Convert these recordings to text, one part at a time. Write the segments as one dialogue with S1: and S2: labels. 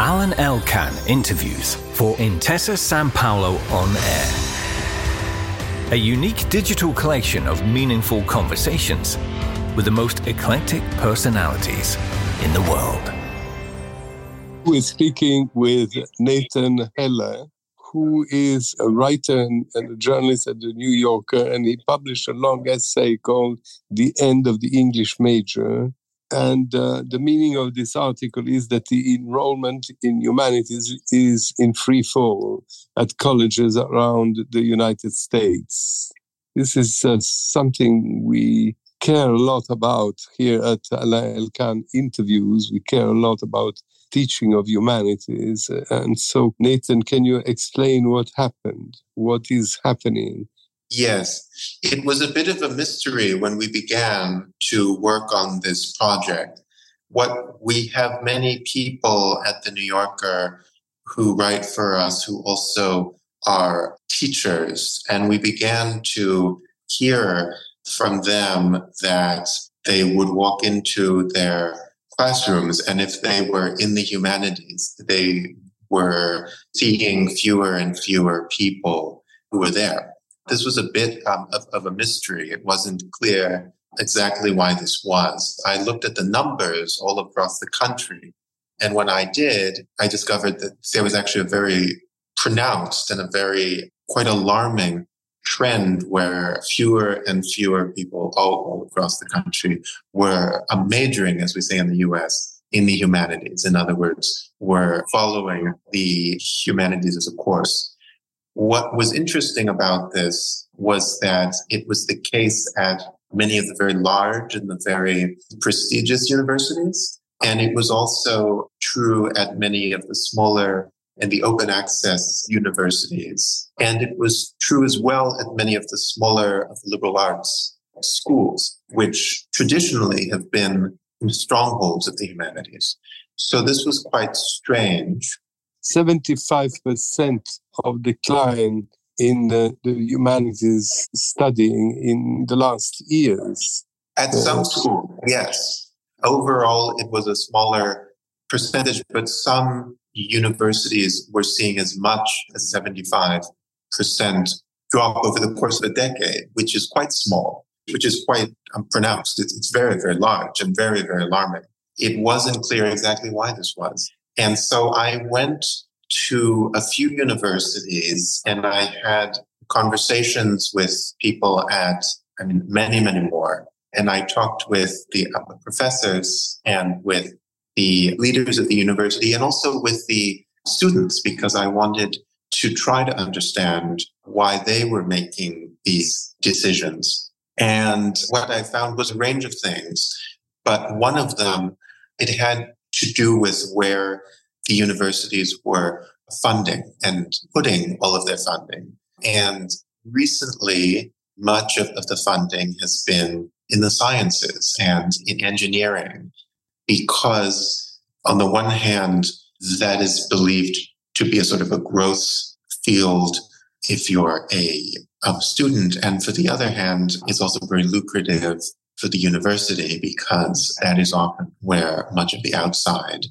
S1: Alan Elkan interviews for Intesa Sanpaolo On Air. A unique digital collection of meaningful conversations with the most eclectic personalities in the world.
S2: We're speaking with Nathan Heller, who is a writer and a journalist at the New Yorker, and he published a long essay called The End of the English Major. And the meaning of this article is that the enrollment in humanities is in free fall at colleges around the United States. This is something we care a lot about here at Alain Elkan Interviews. We care a lot about teaching of humanities. And so, Nathan, can you explain what happened? What is happening?
S3: Yes, it was a bit of a mystery when we began to work on this project. We have many people at the New Yorker who write for us who also are teachers, and we began to hear from them that they would walk into their classrooms, and if they were in the humanities, they were seeing fewer and fewer people who were there. This was a bit of a mystery. It wasn't clear exactly why this was. I looked at the numbers all across the country, and when I did, I discovered that there was actually a very pronounced and a very quite alarming trend where fewer and fewer people all across the country were majoring, as we say in the US, in the humanities. In other words, were following the humanities as a course. What was interesting about this was that it was the case at many of the very large and the very prestigious universities. And it was also true at many of the smaller and the open access universities. And it was true as well at many of the smaller of the liberal arts schools, which traditionally have been strongholds of the humanities. So this was quite strange.
S2: 75% of decline in the humanities studying in the last years.
S3: At some schools, yes. Overall, it was a smaller percentage, but some universities were seeing as much as 75% drop over the course of a decade, which is quite small, which is quite pronounced. It's very, very large and very, very alarming. It wasn't clear exactly why this was. And so I went to a few universities and I had conversations with people at, many, many more. And I talked with the professors and with the leaders of the university and also with the students, because I wanted to try to understand why they were making these decisions. And what I found was a range of things, but one of them, it had to do with where the universities were funding and putting all of their funding. And recently, much of the funding has been in the sciences and in engineering, because on the one hand, that is believed to be a sort of a growth field if you're a student. And for the other hand, it's also very lucrative for the university, because that is often where much of the outside.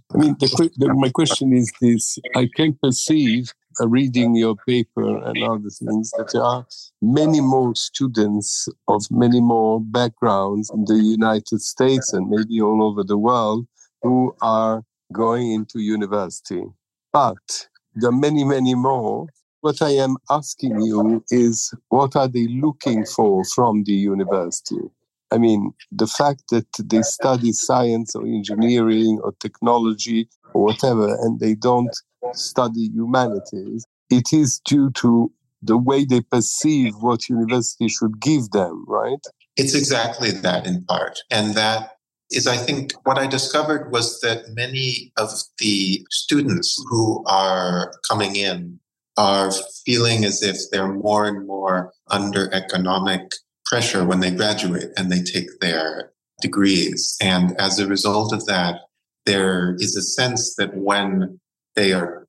S2: My question is this. I can perceive, reading your paper and other things, that there are many more students of many more backgrounds in the United States and maybe all over the world who are going into university. But there are many, many more. What I am asking you is, what are they looking for from the university? The fact that they study science or engineering or technology or whatever, and they don't study humanities, it is due to the way they perceive what university should give them, right?
S3: It's exactly that in part. And that is, I think, what I discovered was that many of the students who are coming in are feeling as if they're more and more under economic pressure when they graduate and they take their degrees. And as a result of that, there is a sense that when they are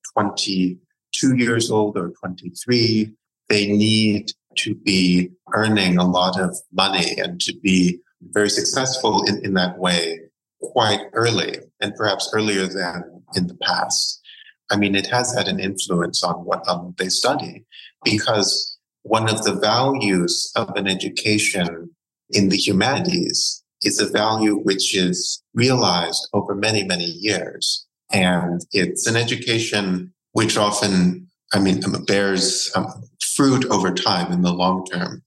S3: 22 years old or 23, they need to be earning a lot of money and to be very successful in that way quite early, and perhaps earlier than in the past. it has had an influence on what they study, because one of the values of an education in the humanities is a value which is realized over many, many years. And it's an education which often, bears fruit over time in the long term.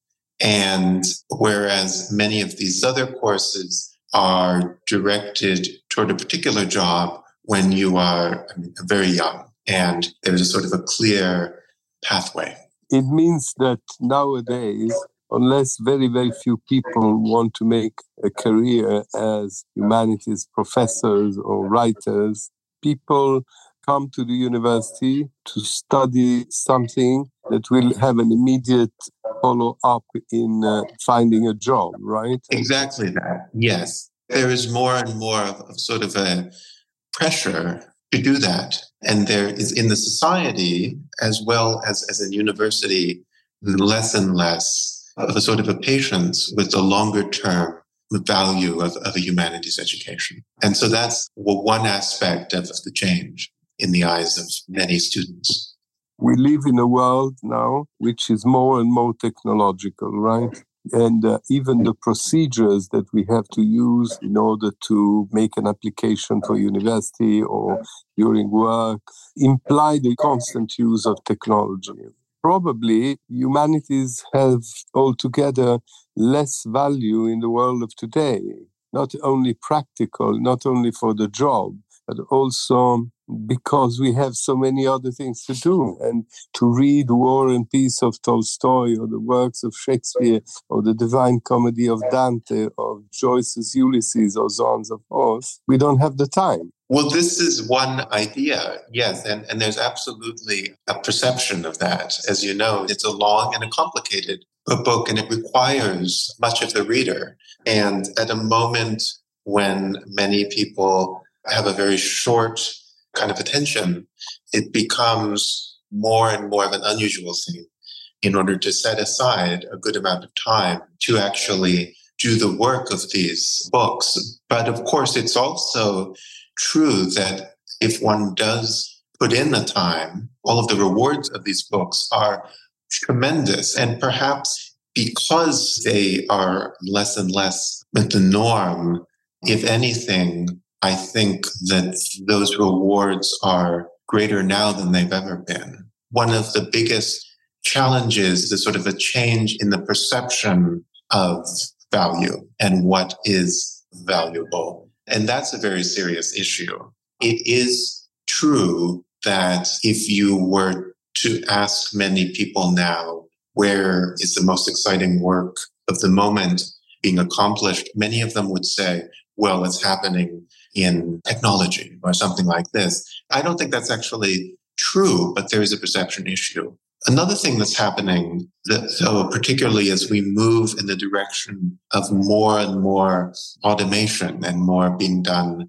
S3: And whereas many of these other courses are directed toward a particular job when you are very young, and there's a sort of a clear pathway.
S2: It means that nowadays, unless very, very few people want to make a career as humanities professors or writers, people come to the university to study something that will have an immediate follow-up in finding a job, right?
S3: Exactly that, yes. There is more and more of sort of a pressure to do that. And there is in the society, as well as in university, less and less of a sort of a patience with the longer term value of a humanities education. And so that's one aspect of the change in the eyes of many students.
S2: We live in a world now which is more and more technological, right? And even the procedures that we have to use in order to make an application for university or during work imply the constant use of technology. Probably humanities have altogether less value in the world of today, not only practical, not only for the job, but also because we have so many other things to do. And to read War and Peace of Tolstoy, or the works of Shakespeare, or the Divine Comedy of Dante, or Joyce's Ulysses, or so on and so forth, we don't have the time.
S3: Well, this is one idea, yes, and there's absolutely a perception of that. As you know, it's a long and a complicated book, and it requires much of the reader. And at a moment when many people have a very short kind of attention, it becomes more and more of an unusual thing in order to set aside a good amount of time to actually do the work of these books. But of course, it's also true that if one does put in the time, all of the rewards of these books are tremendous. And perhaps because they are less and less the norm, if anything, I think that those rewards are greater now than they've ever been. One of the biggest challenges is sort of a change in the perception of value and what is valuable. And that's a very serious issue. It is true that if you were to ask many people now, where is the most exciting work of the moment being accomplished, many of them would say, well, it's happening in technology or something like this. I don't think that's actually true, but there is a perception issue. Another thing that's happening, so particularly as we move in the direction of more and more automation and more being done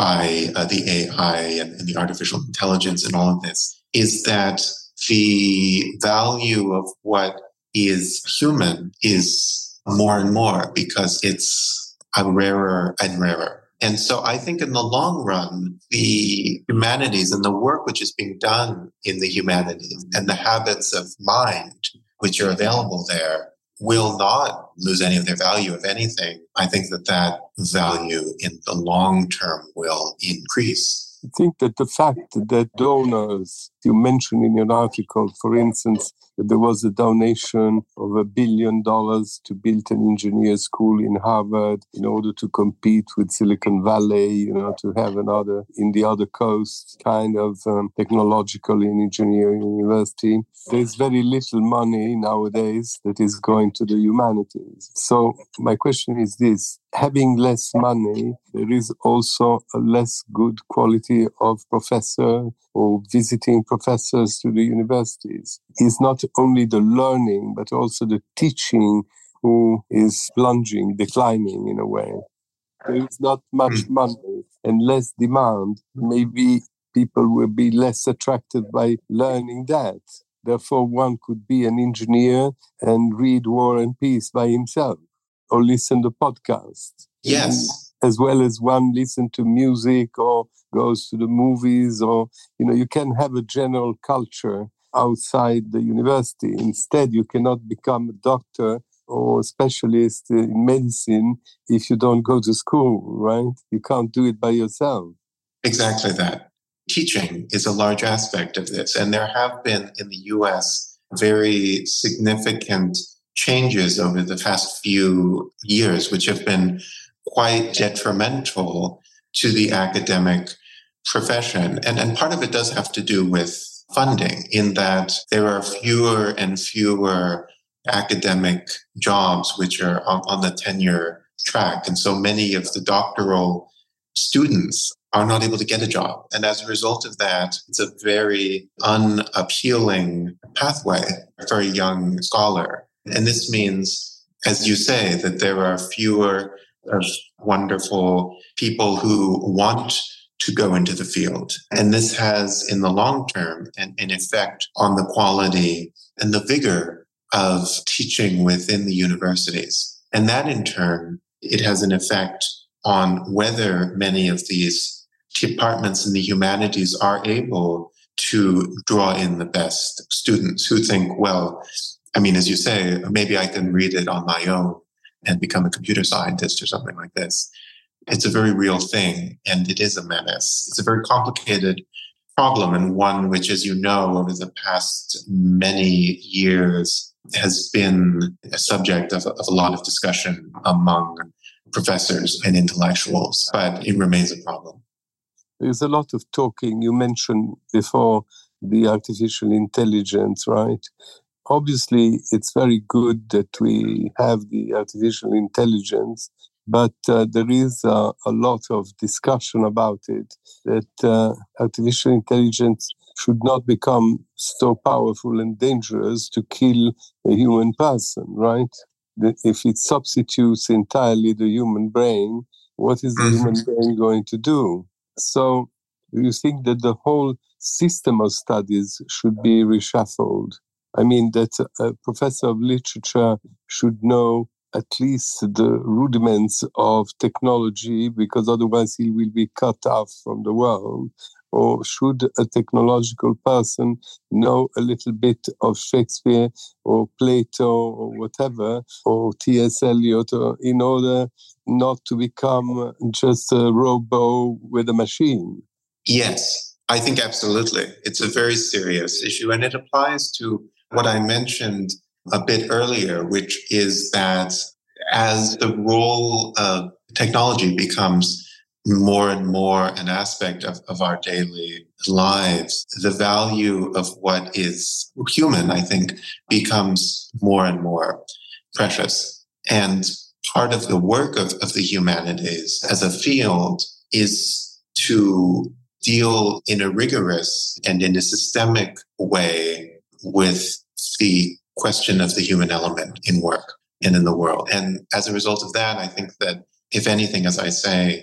S3: by the AI and the artificial intelligence and all of this, is that the value of what is human is more and more because it's rarer and rarer. And so I think in the long run, the humanities and the work which is being done in the humanities and the habits of mind which are available there will not lose any of their value. If anything, I think that value in the long term will increase.
S2: I think that the fact that donors, you mentioned in your article, for instance, that there was a donation of $1 billion to build an engineer school in Harvard in order to compete with Silicon Valley, to have another in the other coast kind of technological and engineering university. There's very little money nowadays that is going to the humanities. So my question is this: having less money, there is also a less good quality of professor or visiting professors to the universities. It's not only the learning, but also the teaching who is declining in a way. There is not much money and less demand. Maybe people will be less attracted by learning that. Therefore, one could be an engineer and read War and Peace by himself or listen to podcasts.
S3: Yes.
S2: As well as one listen to music or goes to the movies, or, you can have a general culture outside the university. Instead, you cannot become a doctor or a specialist in medicine if you don't go to school, right? You can't do it by yourself.
S3: Exactly that. Teaching is a large aspect of this. And there have been in the US very significant changes over the past few years, which have been quite detrimental to the academic profession. And part of it does have to do with funding, in that there are fewer and fewer academic jobs which are on the tenure track. And so many of the doctoral students are not able to get a job. And as a result of that, it's a very unappealing pathway for a young scholar. And this means, as you say, that there are fewer wonderful people who want to go into the field. And this has, in the long term, an effect on the quality and the vigor of teaching within the universities. And that, in turn, it has an effect on whether many of these departments in the humanities are able to draw in the best students who think, well, as you say, maybe I can read it on my own and become a computer scientist or something like this. It's a very real thing, and it is a menace. It's a very complicated problem, and one which, as you know, over the past many years has been a subject of a lot of discussion among professors and intellectuals, but it remains a problem.
S2: There's a lot of talking. You mentioned before the artificial intelligence, right? Obviously, it's very good that we have the artificial intelligence, but there is a lot of discussion about it, that artificial intelligence should not become so powerful and dangerous to kill a human person, right? If it substitutes entirely the human brain, what is the human brain going to do? So you think that the whole system of studies should be reshuffled? That a professor of literature should know at least the rudiments of technology, because otherwise he will be cut off from the world. Or should a technological person know a little bit of Shakespeare or Plato or whatever, or T.S. Eliot, in order not to become just a robo with a machine?
S3: Yes, I think absolutely. It's a very serious issue, and it applies to what I mentioned a bit earlier, which is that as the role of technology becomes more and more an aspect of our daily lives, the value of what is human, I think, becomes more and more precious. And part of the work of the humanities as a field is to deal in a rigorous and in a systemic way with the question of the human element in work and in the world. And as a result of that, I think that, if anything, as I say,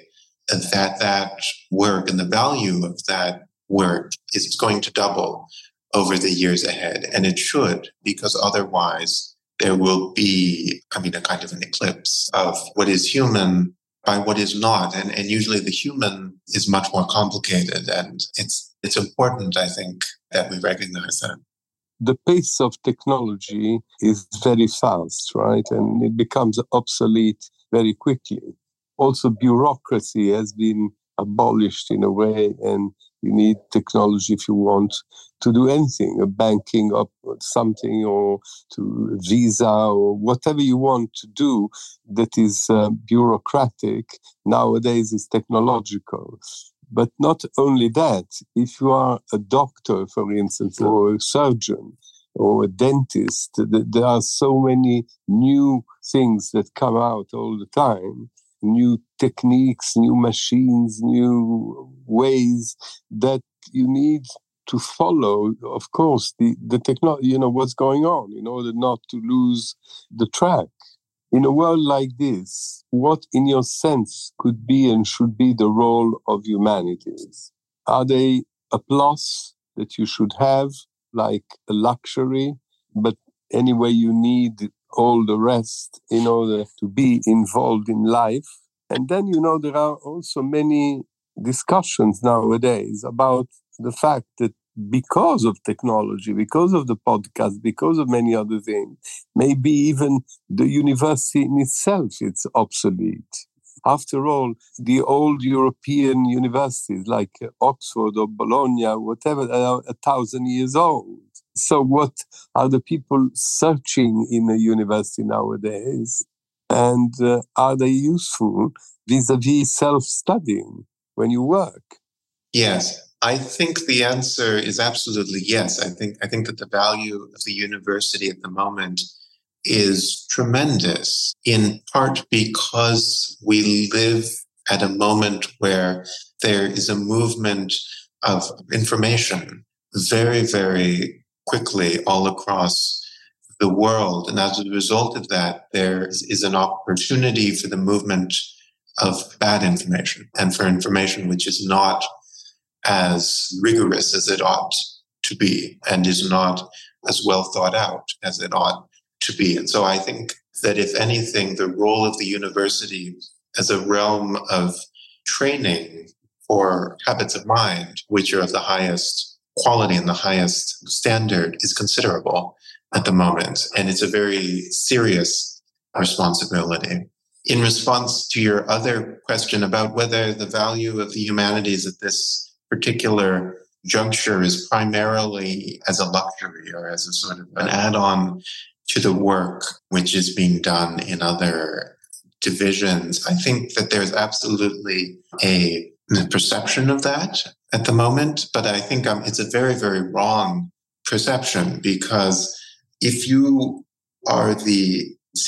S3: that work and the value of that work is going to double over the years ahead. And it should, because otherwise there will be, a kind of an eclipse of what is human by what is not. And usually the human is much more complicated. And it's important, I think, that we recognize that.
S2: The pace of technology is very fast, right? And it becomes obsolete very quickly. Also, bureaucracy has been abolished in a way, and you need technology if you want to do anything, a banking up something, or to visa, or whatever you want to do that is bureaucratic nowadays is technological. But not only that, if you are a doctor, for instance, or a surgeon, or a dentist, there are so many new things that come out all the time. New techniques, new machines, new ways that you need to follow, of course, the technology, what's going on, in order not to lose the track. In a world like this, what, in your sense, could be and should be the role of humanities? Are they a plus that you should have, like a luxury, but anyway you need all the rest in order to be involved in life? And then, there are also many discussions nowadays about the fact that because of technology, because of the podcast, because of many other things, maybe even the university in itself is obsolete. After all, the old European universities like Oxford or Bologna, whatever, are 1,000 years old. So what are the people searching in a university nowadays? And are they useful vis-a-vis self-studying when you work?
S3: Yes, I think the answer is absolutely yes. I think that the value of the university at the moment is tremendous, in part because we live at a moment where there is a movement of information very, very quickly all across the world. And as a result of that, there is an opportunity for the movement of bad information and for information which is not as rigorous as it ought to be and is not as well thought out as it ought to be. And so I think that if anything, the role of the university as a realm of training for habits of mind, which are of the highest quality and the highest standard, is considerable at the moment. And it's a very serious responsibility. In response to your other question about whether the value of the humanities at this particular juncture is primarily as a luxury or as a sort of an add-on to the work which is being done in other divisions, I think that there's absolutely a perception of that at the moment, but I think it's a very, very wrong perception, because if you are the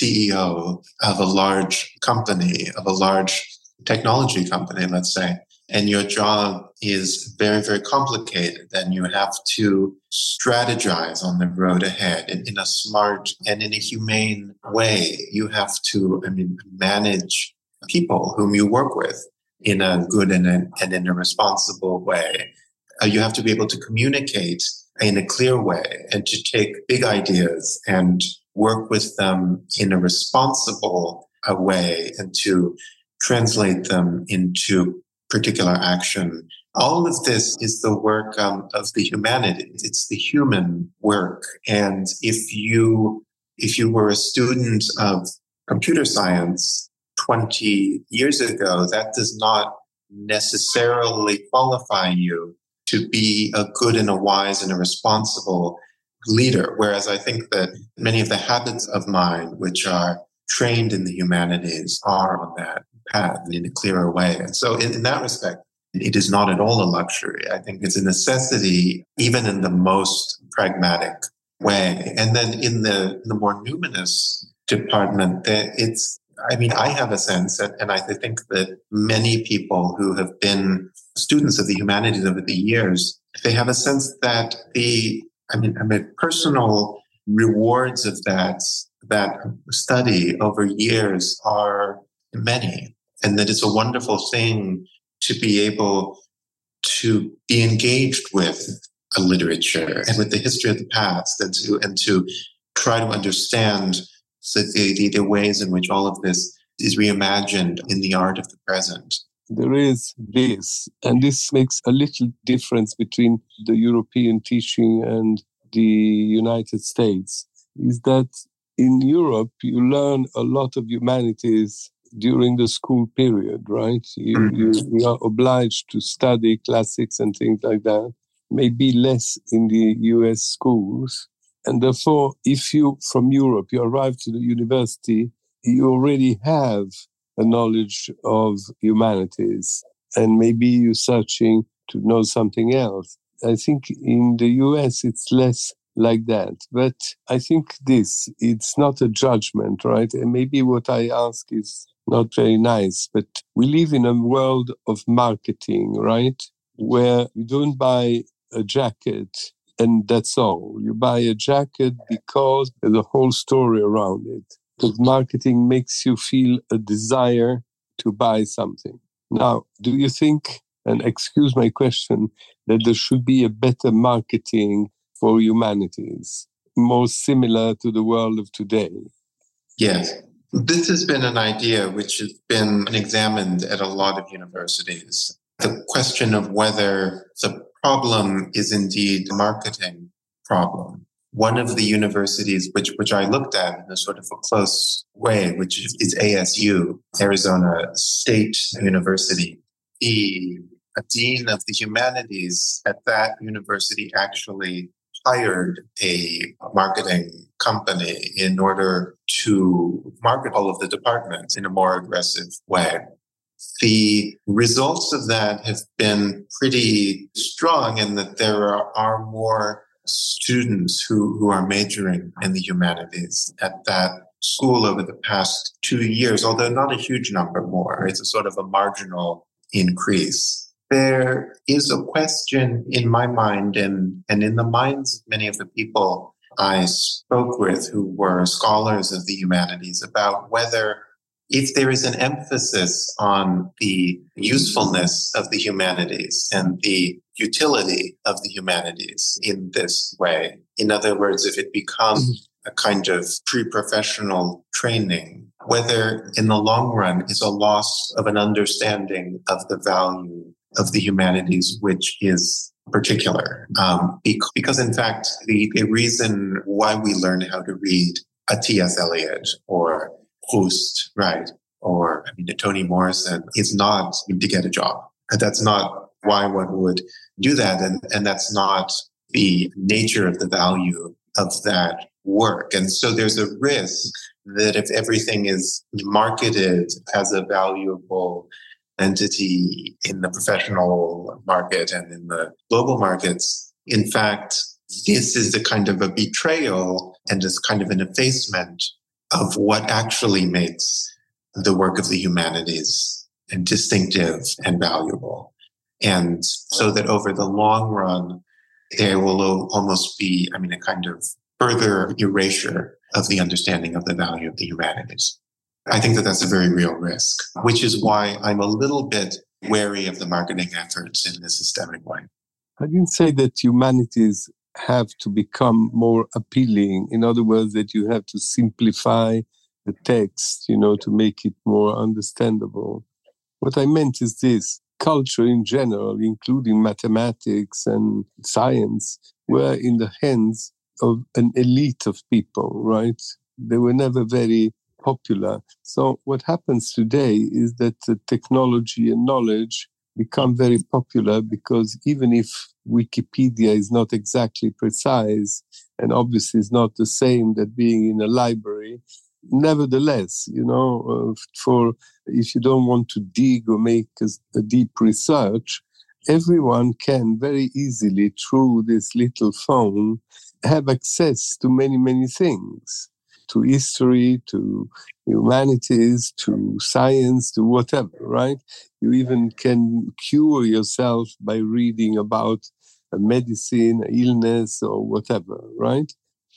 S3: CEO of a large company, of a large technology company, let's say, and your job is very, very complicated, then you have to strategize on the road ahead in a smart and in a humane way. You have to, manage people whom you work with in a good and in a responsible way. You have to be able to communicate in a clear way and to take big ideas and work with them in a responsible way and to translate them into particular action. All of this is the work of the humanities. It's the human work. And if you were a student of computer science 20 years ago, that does not necessarily qualify you to be a good and a wise and a responsible leader. Whereas I think that many of the habits of mind which are trained in the humanities are on that path in a clearer way. And so in that respect, it is not at all a luxury. I think it's a necessity, even in the most pragmatic way. And then in the more numinous department, I have a sense, and I think that many people who have been students of the humanities over the years, they have a sense that the personal rewards of that study over years are many, and that it's a wonderful thing to be able to be engaged with a literature and with the history of the past, and to try to understand the ways in which all of this is reimagined in the art of the present.
S2: There is this, and this makes a little difference between the European teaching and the United States, is that in Europe, you learn a lot of humanities during the school period, right? You are obliged to study classics and things like that, maybe less in the US schools. And therefore, if you, from Europe, you arrive to the university, you already have a knowledge of humanities, and maybe you're searching to know something else. I think in the US, it's less like that. But I think it's not a judgment, right? And maybe what I ask is not very nice, but we live in a world of marketing, right? Where you don't buy a jacket and that's all. You buy a jacket because there's a whole story around it. Because marketing makes you feel a desire to buy something. Now, do you think, and excuse my question, that there should be a better marketing for humanities, more similar to the world of today?
S3: Yes. This has been an idea which has been examined at a lot of universities. the question of whether the problem is indeed a marketing problem. One of the universities which I looked at in a sort of a close way, which is ASU, Arizona State University. The dean of the humanities at that university actually hired a marketing company in order to market all of the departments in a more aggressive way. The results of that have been pretty strong in that there are more students who are majoring in the humanities at that school over the past 2 years, although not a huge number more. It's a sort of a marginal increase. There is a question in my mind and in the minds of many of the people I spoke with who were scholars of the humanities about whether if there is an emphasis on the usefulness of the humanities and the utility of the humanities in this way, in other words, if it becomes a kind of pre-professional training, whether in the long run is a loss of an understanding of the value of the humanities, which is particular. Because in fact, the reason why we learn how to read a T.S. Eliot or Proust, right? Or, Toni Morrison is not to get a job. That's not why one would do that. And that's not the nature of the value of that work. And so there's a risk that if everything is marketed as a valuable entity in the professional market and in the global markets, in fact, this is the kind of a betrayal and this kind of an effacement of what actually makes the work of the humanities distinctive and valuable. And so that over the long run, there will almost be, a kind of further erasure of the understanding of the value of the humanities. I think that that's a very real risk, which is why I'm a little bit wary of the marketing efforts in a systemic way.
S2: I didn't say that humanities have to become more appealing. In other words, that you have to simplify the text, to make it more understandable. What I meant is this: culture in general, including mathematics and science, were in the hands of an elite of people, right? They were never very popular. So what happens today is that technology and knowledge become very popular because even if Wikipedia is not exactly precise and obviously is not the same that being in a library, nevertheless, for if you don't want to dig or make a deep research, everyone can very easily through this little phone have access to many, many things, to history, to humanities, to science, to whatever, right? You even can cure yourself by reading about a medicine, an illness, or whatever, right?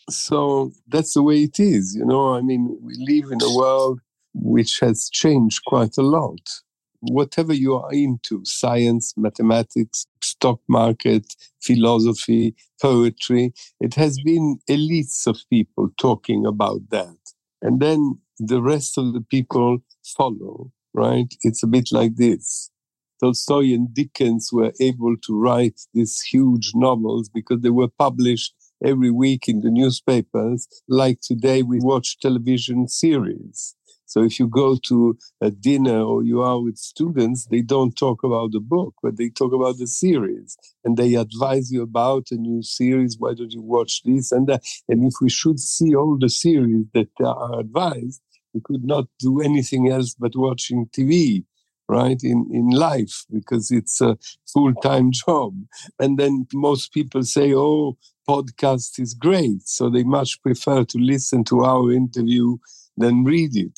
S2: So that's the way it is, we live in a world which has changed quite a lot. Whatever you are into, science, mathematics, stock market, philosophy, poetry, it has been elites of people talking about that. And then the rest of the people follow, right? It's a bit like this. Tolstoy and Dickens were able to write these huge novels because they were published every week in the newspapers. Like today, we watch television series. So if you go to a dinner or you are with students, they don't talk about the book, but they talk about the series. And they advise you about a new series. Why don't you watch this and that? And if we should see all the series that are advised, we could not do anything else but watching TV, right, in life, because it's a full-time job. And then most people say, oh, podcast is great. So they much prefer to listen to our interview than read it.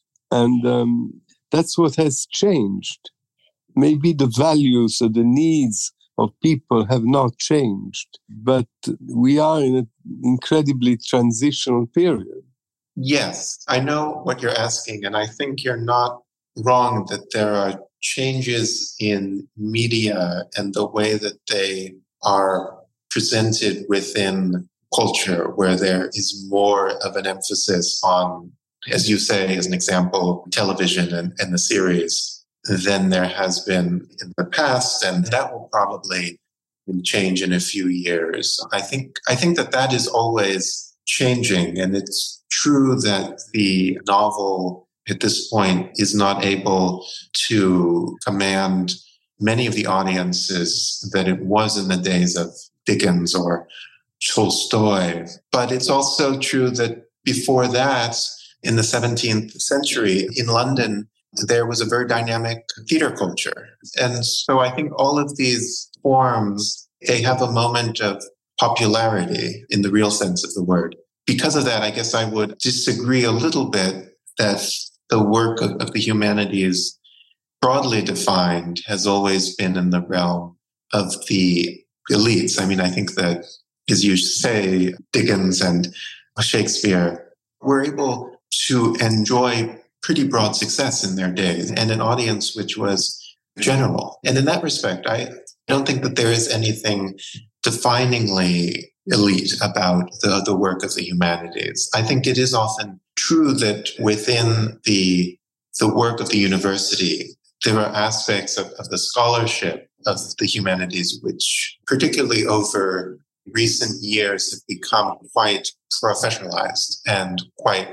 S2: And that's what has changed. Maybe the values or the needs of people have not changed, but we are in an incredibly transitional period.
S3: Yes, I know what you're asking, and I think you're not wrong that there are changes in media and the way that they are presented within culture, where there is more of an emphasis on, as you say, as an example, television and the series. than there has been in the past, and that will probably change in a few years. I think that is always changing, and it's true that the novel at this point is not able to command many of the audiences that it was in the days of Dickens or Tolstoy. But it's also true that before that, in the 17th century, in London, there was a very dynamic theater culture. And so I think all of these forms, they have a moment of popularity in the real sense of the word. Because of that, I guess I would disagree a little bit that the work of the humanities, broadly defined, has always been in the realm of the elites. I mean, I think that, as you say, Dickens and Shakespeare were able to enjoy pretty broad success in their days and an audience which was general. And in that respect, I don't think that there is anything definingly elite about the work of the humanities. I think it is often true that within the work of the university, there are aspects of the scholarship of the humanities which, particularly over recent years, have become quite professionalized and quite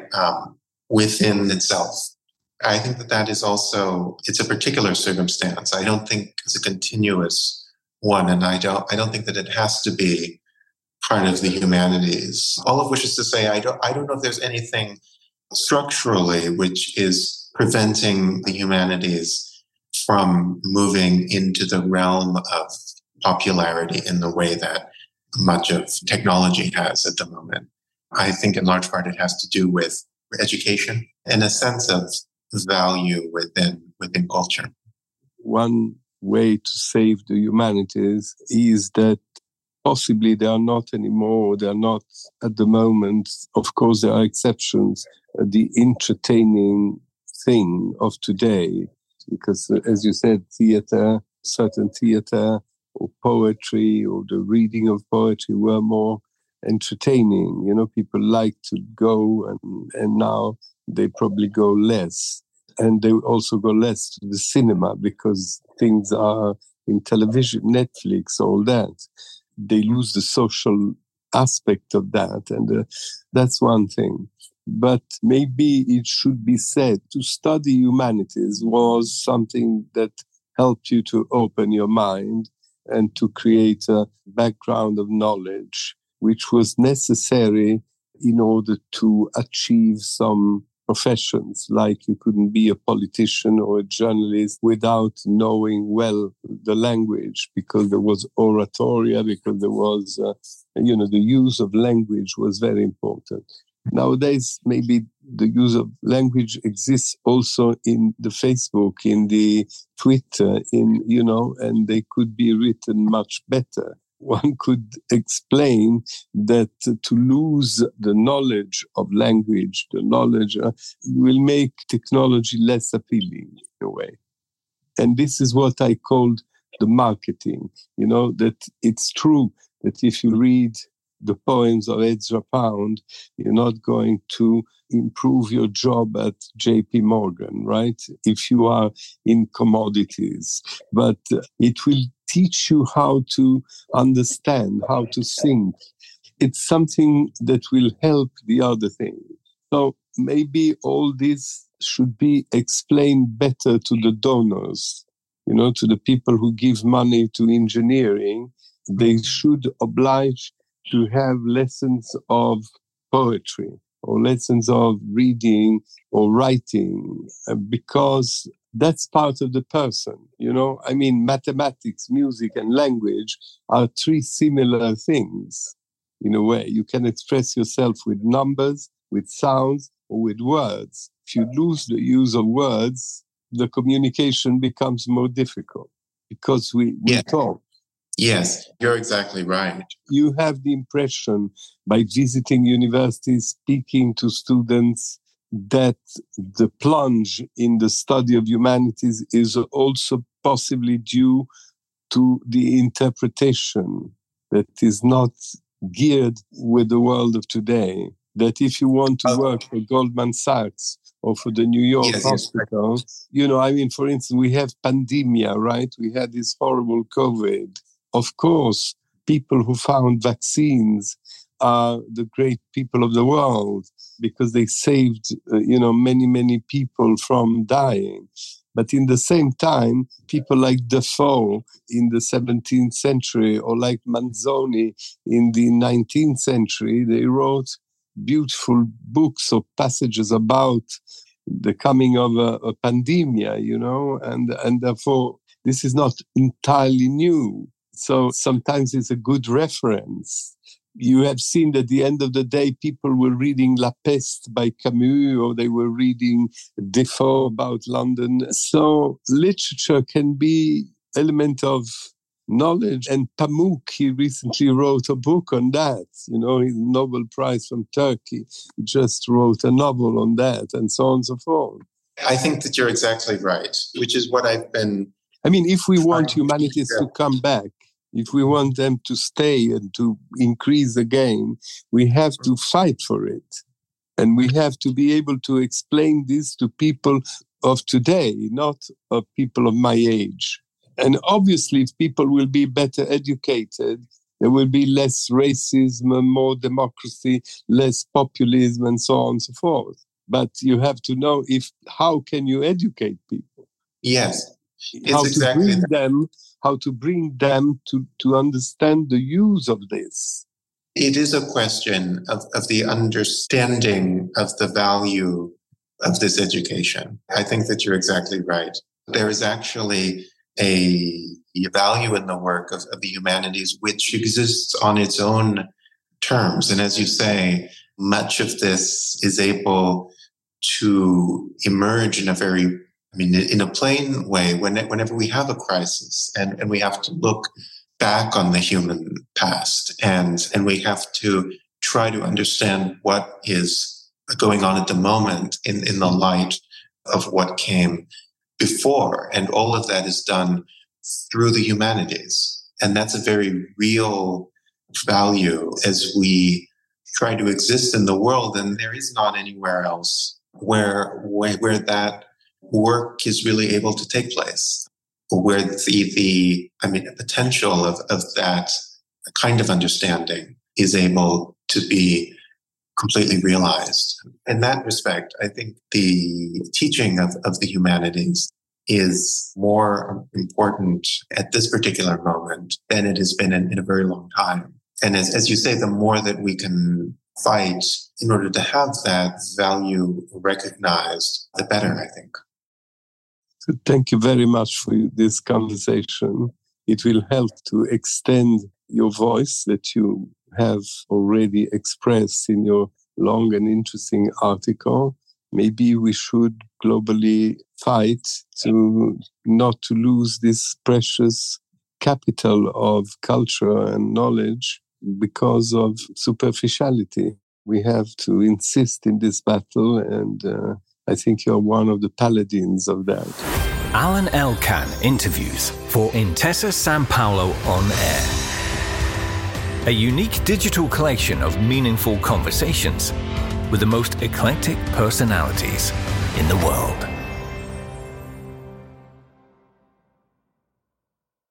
S3: within itself. I think that is also, it's a particular circumstance. I don't think it's a continuous one, and I don't think that it has to be part of the humanities. All of which is to say, I don't know if there's anything structurally which is preventing the humanities from moving into the realm of popularity in the way that much of technology has at the moment. I think in large part it has to do with education and a sense of value within culture.
S2: One way to save the humanities is that possibly they are not anymore, they are not at the moment, of course there are exceptions, the entertaining thing of today. Because as you said, certain theater or poetry or the reading of poetry were more entertaining. You know, people like to go and now they probably go less. And they also go less to the cinema because things are in television, Netflix, all that. They lose the social aspect of that. And that's one thing. But maybe it should be said to study humanities was something that helped you to open your mind and to create a background of knowledge, which was necessary in order to achieve some professions. Like you couldn't be a politician or a journalist without knowing well the language, because there was oratoria, because there was, the use of language was very important. Nowadays, maybe the use of language exists also in the Facebook, in the Twitter, and they could be written much better. One could explain that to lose the knowledge of language, the knowledge will make technology less appealing in a way. And this is what I called the marketing, that it's true that if you read the poems of Ezra Pound, you're not going to improve your job at JP Morgan, right? If you are in commodities. But it will teach you how to understand, how to think. It's something that will help the other thing. So maybe all this should be explained better to the donors, to the people who give money to engineering. They should oblige to have lessons of poetry or lessons of reading or writing, because that's part of the person, mathematics, music, and language are three similar things in a way. You can express yourself with numbers, with sounds, or with words. If you lose the use of words, the communication becomes more difficult because we talk.
S3: Yes, you're exactly right.
S2: You have the impression by visiting universities, speaking to students, that the plunge in the study of humanities is also possibly due to the interpretation that is not geared with the world of today. That if you want to work for Goldman Sachs or for the New York
S3: Yes,
S2: hospital. You know, I mean, for instance, we have pandemia, right? We had this horrible COVID. Of course, people who found vaccines are the great people of the world because they saved, many, many people from dying. But in the same time, people like Defoe in the 17th century or like Manzoni in the 19th century, they wrote beautiful books or passages about the coming of a pandemia, and therefore this is not entirely new. So sometimes it's a good reference. You have seen that at the end of the day, people were reading La Peste by Camus, or they were reading Defoe about London. So literature can be an element of knowledge. And Pamuk, he recently wrote a book on that, his Nobel Prize from Turkey. He just wrote a novel on that, and so on and so forth.
S3: I think that you're exactly right, which is what I've been...
S2: I mean, if we want humanities to come back, if we want them to stay and to increase again, we have to fight for it. And we have to be able to explain this to people of today, not of people of my age. And obviously, if people will be better educated, there will be less racism, more democracy, less populism, and so on and so forth. But you have to know how can you educate people?
S3: Yes,
S2: How to bring them to understand the use of this.
S3: It is a question of the understanding of the value of this education. I think that you're exactly right. There is actually a value in the work of the humanities which exists on its own terms. And as you say, much of this is able to emerge in a plain way whenever we have a crisis and we have to look back on the human past and we have to try to understand what is going on at the moment in the light of what came before. And all of that is done through the humanities. And that's a very real value as we try to exist in the world. And there is not anywhere else where that work is really able to take place, where the potential of that kind of understanding is able to be completely realized. In that respect, I think the teaching of the humanities is more important at this particular moment than it has been in a very long time. And as you say, the more that we can fight in order to have that value recognized, the better, I think.
S2: So thank you very much for this conversation. It will help to extend your voice that you have already expressed in your long and interesting article. Maybe we should globally fight not to lose this precious capital of culture and knowledge because of superficiality. We have to insist in this battle, and I think you're one of the paladins of that.
S1: Alan Elkan interviews for Intesa Sanpaolo On Air. A unique digital collection of meaningful conversations with the most eclectic personalities in the world.